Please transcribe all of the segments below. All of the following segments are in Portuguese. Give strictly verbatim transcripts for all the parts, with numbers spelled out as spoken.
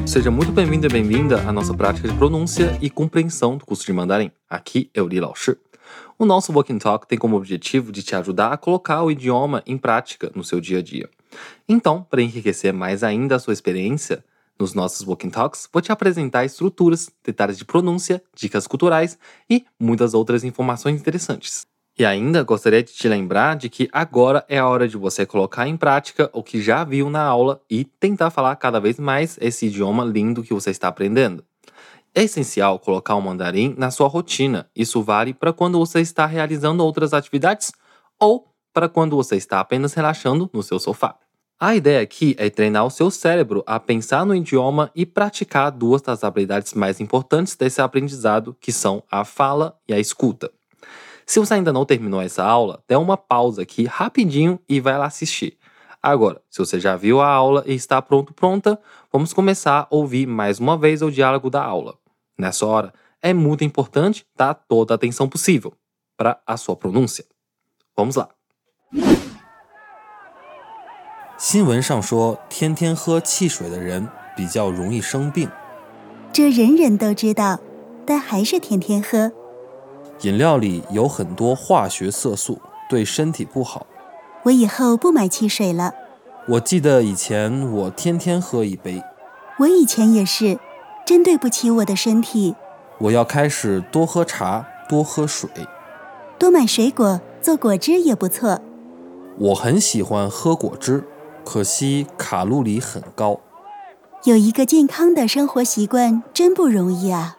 Seja muito bem-vindo e bem-vinda à nossa prática de pronúncia e compreensão do curso de mandarim. Aqui é o Li Lao Shi. O nosso Walk and Talk tem como objetivo de te ajudar a colocar o idioma em prática no seu dia a dia. Então, para enriquecer mais ainda a sua experiência nos nossos Walk and Talks, vou te apresentar estruturas, detalhes de pronúncia, dicas culturais e muitas outras informações interessantes. E ainda gostaria de te lembrar de que agora é a hora de você colocar em prática o que já viu na aula e tentar falar cada vez mais esse idioma lindo que você está aprendendo. É essencial colocar o mandarim na sua rotina. Isso vale para quando você está realizando outras atividades ou para quando você está apenas relaxando no seu sofá. A ideia aqui é treinar o seu cérebro a pensar no idioma e praticar duas das habilidades mais importantes desse aprendizado, que são a fala e a escuta. Se você ainda não terminou essa aula, dê uma pausa aqui rapidinho e vai lá assistir. Agora, se você já viu a aula e está pronto, pronta, vamos começar a ouvir mais uma vez o diálogo da aula. Nessa hora, é muito importante dar toda a atenção possível para a sua pronúncia. Vamos lá. 新闻上说，天天喝汽水的人比较容易生病。 这人人都知道，但还是天天喝。 饮料里有很多化学色素，对身体不好。 我以后不买汽水了。 我记得以前我天天喝一杯。 我以前也是，真对不起我的身体。 我要开始多喝茶，多喝水。 多买水果，做果汁也不错。 我很喜欢喝果汁，可惜卡路里很高。 有一个健康的生活习惯真不容易啊。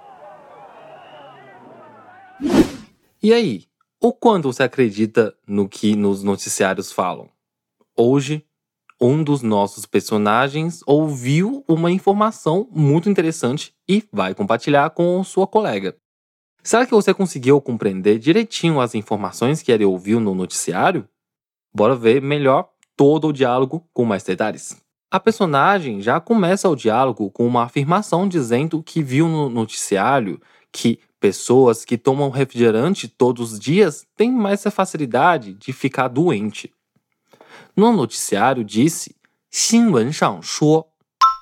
E aí, o quanto você acredita no que nos noticiários falam? Hoje, um dos nossos personagens ouviu uma informação muito interessante e vai compartilhar com sua colega. Será que você conseguiu compreender direitinho as informações que ele ouviu no noticiário? Bora ver melhor todo o diálogo com mais detalhes. A personagem já começa o diálogo com uma afirmação dizendo que viu no noticiário que pessoas que tomam refrigerante todos os dias têm mais facilidade de ficar doente. No noticiário disse 新闻上说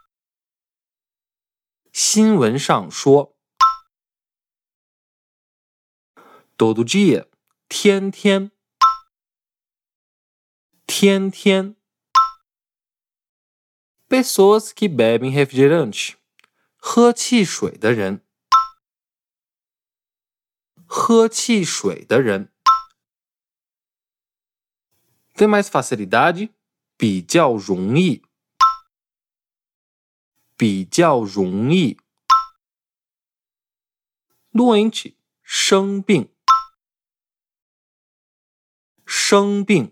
新闻上说 todo dia 天天天天 pessoas que bebem refrigerante 喝汽水的人喝汽水的人 tem mais facilidade 比较容易比较容易 doente 生病生病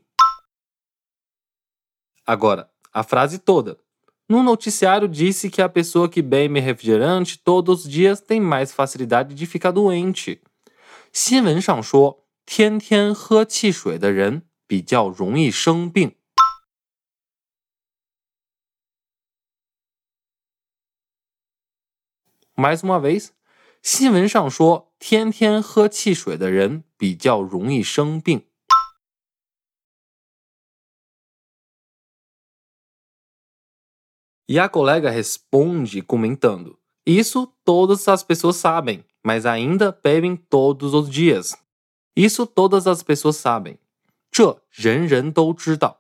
Agora, a frase toda. No noticiário disse que a pessoa que bebe refrigerante todos os dias tem mais facilidade de ficar doente. 新闻上说，天天喝汽水的人比较容易生病。Mais uma vez, 新闻上说，天天喝汽水的人比较容易生病。E a colega responde comentando: Isso todas as pessoas sabem, mas ainda bebem todos os dias. Isso todas as pessoas sabem. 这人人都知道。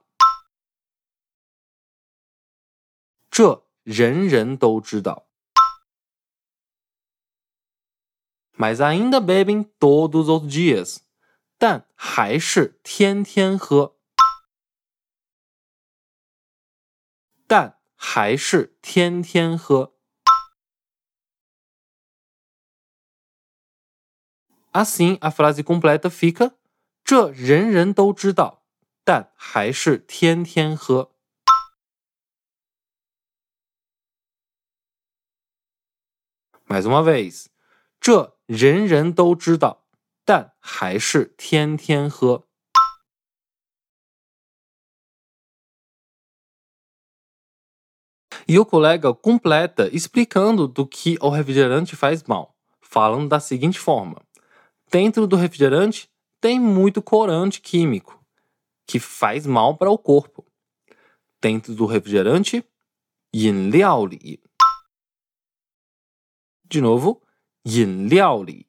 这人人都知道。Mas ainda bebem todos os dias. 但还是天天喝。但还是天天喝。Assim, a frase completa fica 这人人都知道，但还是天天喝。Mais uma vez, 这人人都知道，但还是天天喝。E o colega completa explicando do que o refrigerante faz mal, falando da seguinte forma: dentro do refrigerante tem muito corante químico, que faz mal para o corpo. Dentro do refrigerante, 饮料里 De novo, 饮料里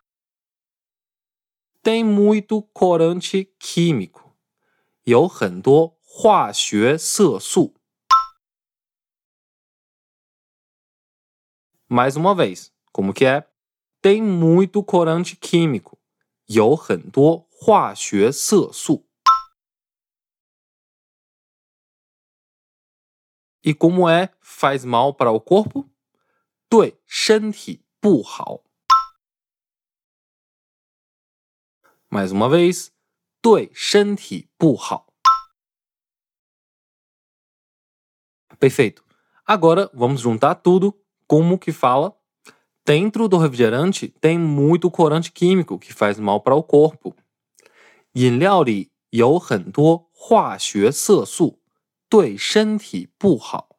tem muito corante químico. 有很多化学色素。Mais uma vez, como que é? Tem muito corante químico. 有很多化学色素。E como é faz mal para o corpo? 对身体不好。Mais uma vez, 对身体不好。Perfeito. Agora vamos juntar tudo. Como que fala? Dentro do refrigerante tem muito corante químico que faz mal para o corpo. 饮料里有很多化学色素，对身体不好。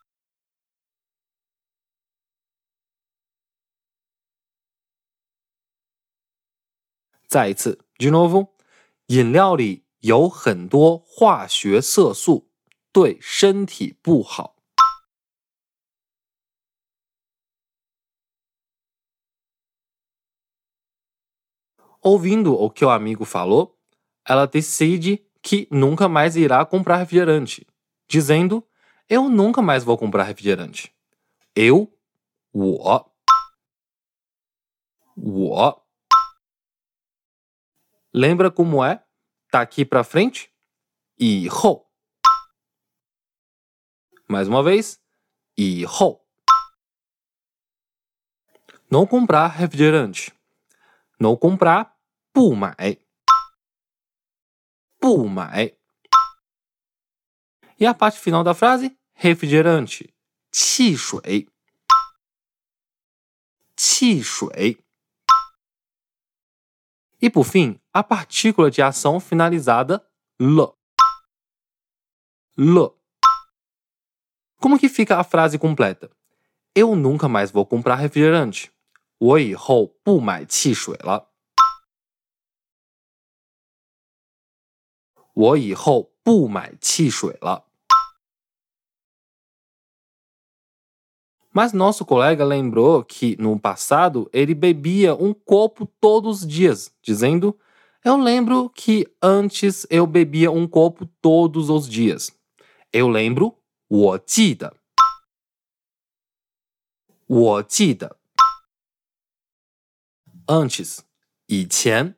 再一次 de novo， 饮料里有很多化学色素，对身体不好。Ouvindo o que o amigo falou, ela decide que nunca mais irá comprar refrigerante, dizendo: eu nunca mais vou comprar refrigerante. Eu, 我，我。Lembra como é? Tá aqui pra frente? 以后。Mais uma vez, 以后。Não comprar refrigerante. Não comprar, 不买。不买。E a parte final da frase? Refrigerante. 汽水。汽水。E por fim, a partícula de ação finalizada l. L. Como que fica a frase completa? Eu nunca mais vou comprar refrigerante. 我以后不买汽水了。我以后不买汽水了。Mas nosso colega lembrou que, no passado, ele bebia um copo todos os dias, dizendo: eu lembro que antes eu bebia um copo todos os dias. Eu lembro, 我记得。我记得。Antes, 以前。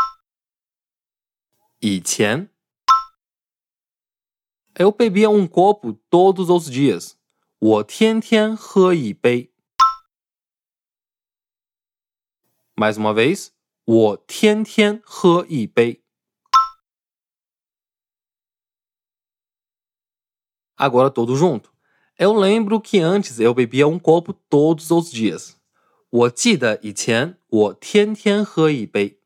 以前。Eu bebia um copo todos os dias. 我天天喝一杯。Mais uma vez, 我天天喝一杯。Agora todo junto. Eu lembro que antes eu bebia um copo todos os dias. 我记得以前我天天喝一杯。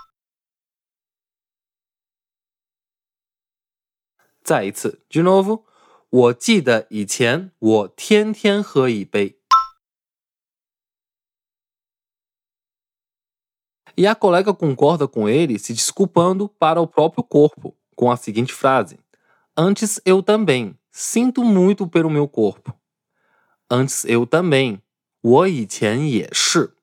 再一次 de novo. 我记得以前我天天喝一杯。E a colega concorda com ele se desculpando para o próprio corpo, com a seguinte frase: antes eu também, sinto muito pelo meu corpo. Antes eu também, 我以前也是。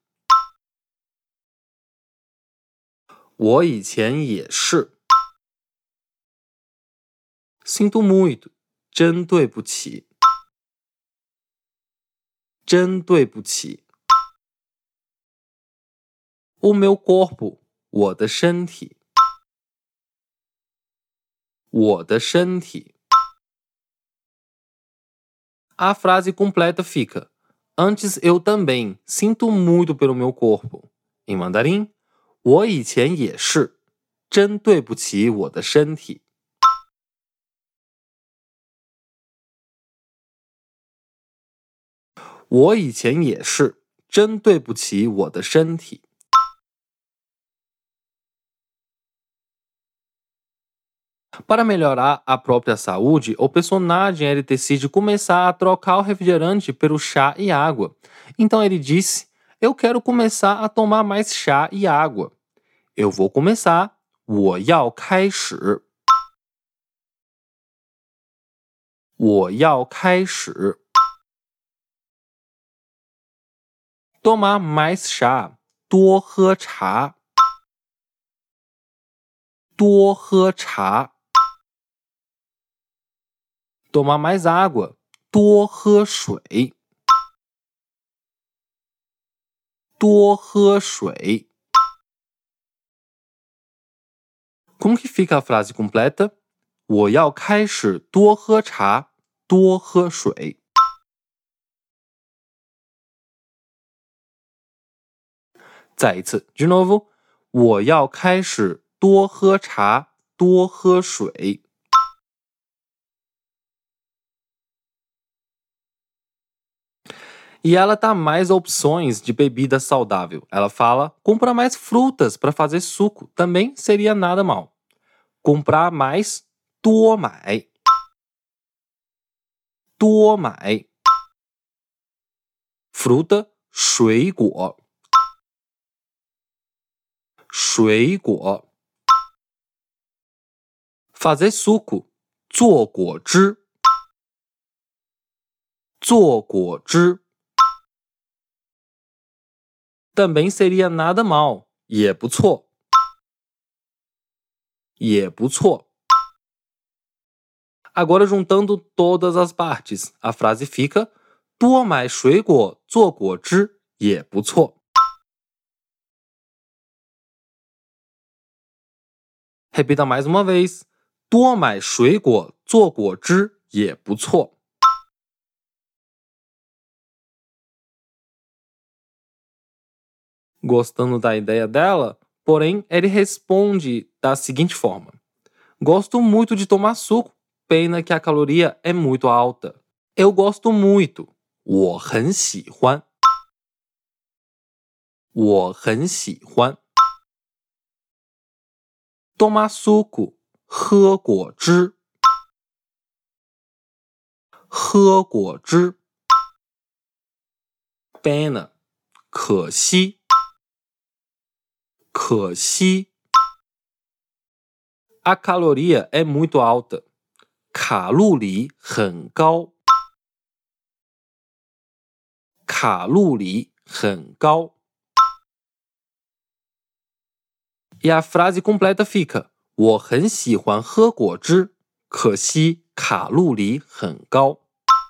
我以前也是。Sinto muito, 真对不起。真对不起。O meu corpo, 我的身体。我的身体。A frase completa fica: antes eu também, sinto muito pelo meu corpo. Em mandarim, 我以前也是，真对不起我的身体。我以前也是，真对不起我的身体。Para melhorar a própria saúde, o personagem ele decide começar a trocar o refrigerante pelo chá e água. Então ele disse: eu quero começar a tomar mais chá e água. Eu vou começar, 我要开始。我要开始。 tomar mais chá, 多喝茶。多喝茶。tomar mais água, 多喝水。多喝水。Como que fica a frase completa? 我要开始多喝茶，多喝水。再一次 de novo, 我要开始多喝茶，多喝水。E ela dá mais opções de bebida saudável. Ela fala, comprar mais frutas para fazer suco. Também seria nada mal. Comprar mais, 多买。多买。Fruta, 水果。水果。Fazer suco, 做果汁。做果汁。Também seria nada mal, 也不错。也不错。Agora juntando todas as partes, a frase fica, 多买水果做果汁也不错。Repita mais uma vez, 多买水果做果汁也不错。Gostando da ideia dela, porém, ele responde da seguinte forma. Gosto muito de tomar suco, pena que a caloria é muito alta. Eu gosto muito, 我很喜欢。我很喜欢。Tomar suco, 喝果汁。喝果汁。Pena, 可惜。可惜。A caloria é muito alta. 卡路里很高。卡路里很高。E a frase completa fica, 我很喜欢喝果汁，可惜卡路里很高。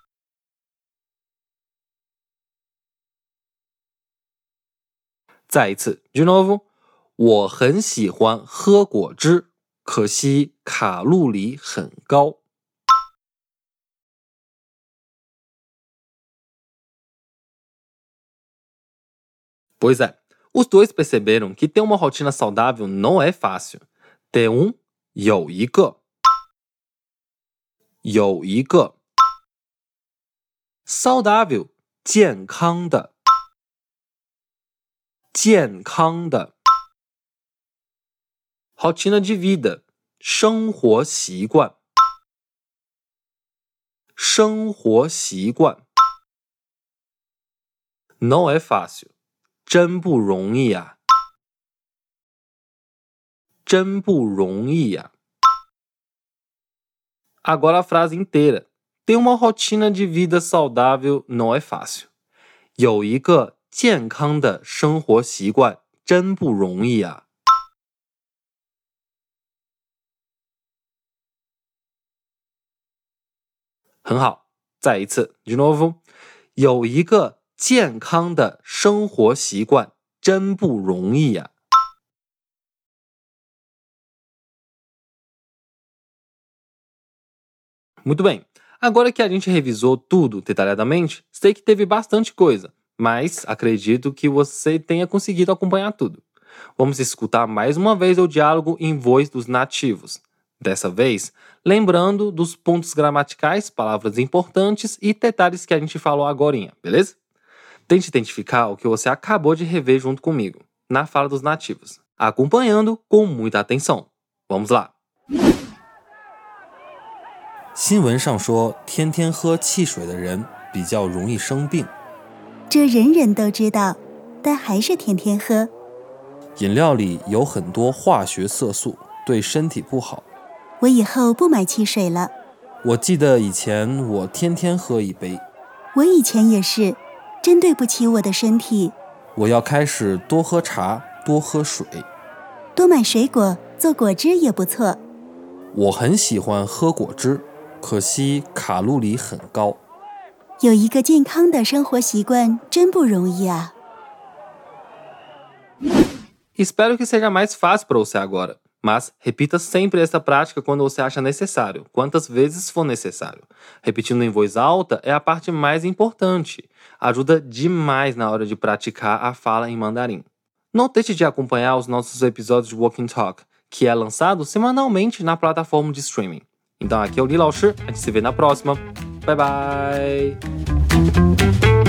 再一次 de novo, 我很喜欢喝果汁，可惜卡路里很高。Pois é, os dois perceberam que ter uma rotina saudável não é fácil. Ter um, 有一个。有一个。saudável, 健康的。健康的。rotina de vida, 生活习惯。生活习惯。Não é fácil, 真不容易啊。真不容易啊。Agora a frase inteira. Ter uma rotina de vida saudável não é fácil. 有一个健康的生活习惯真不容易啊。很好，再一次 de novo. 有一个健康的生活习惯真不容易啊。Muito bem, agora que a gente revisou tudo detalhadamente, sei que teve bastante coisa, mas acredito que você tenha conseguido acompanhar tudo. Vamos escutar mais uma vez o diálogo em voz dos nativos. Dessa vez, lembrando dos pontos gramaticais, palavras importantes e detalhes que a gente falou agorinha, beleza? Tente identificar o que você acabou de rever junto comigo, na fala dos nativos, acompanhando com muita atenção. Vamos lá! 新闻上说，天天喝汽水的人比较容易生病。 这人人都知道，但还是天天喝。 饮料里有很多化学色素，对身体不好。 我以后不买汽水了。 我记得以前我天天喝一杯。 我以前也是，真对不起我的身体。 我要开始多喝茶，多喝水。 多买水果，做果汁也不错。 我很喜欢喝果汁，可惜卡路里很高。 有一个健康的生活习惯真不容易啊。 Espero que seja mais fácil para você agora, mas repita sempre essa prática quando você acha necessário, quantas vezes for necessário. Repetindo em voz alta é a parte mais importante. Ajuda demais na hora de praticar a fala em mandarim. Não deixe de acompanhar os nossos episódios de Walk and Talk, que é lançado semanalmente na plataforma de streaming. Então aqui é o Li Lao Shi, a gente se vê na próxima. Bye bye!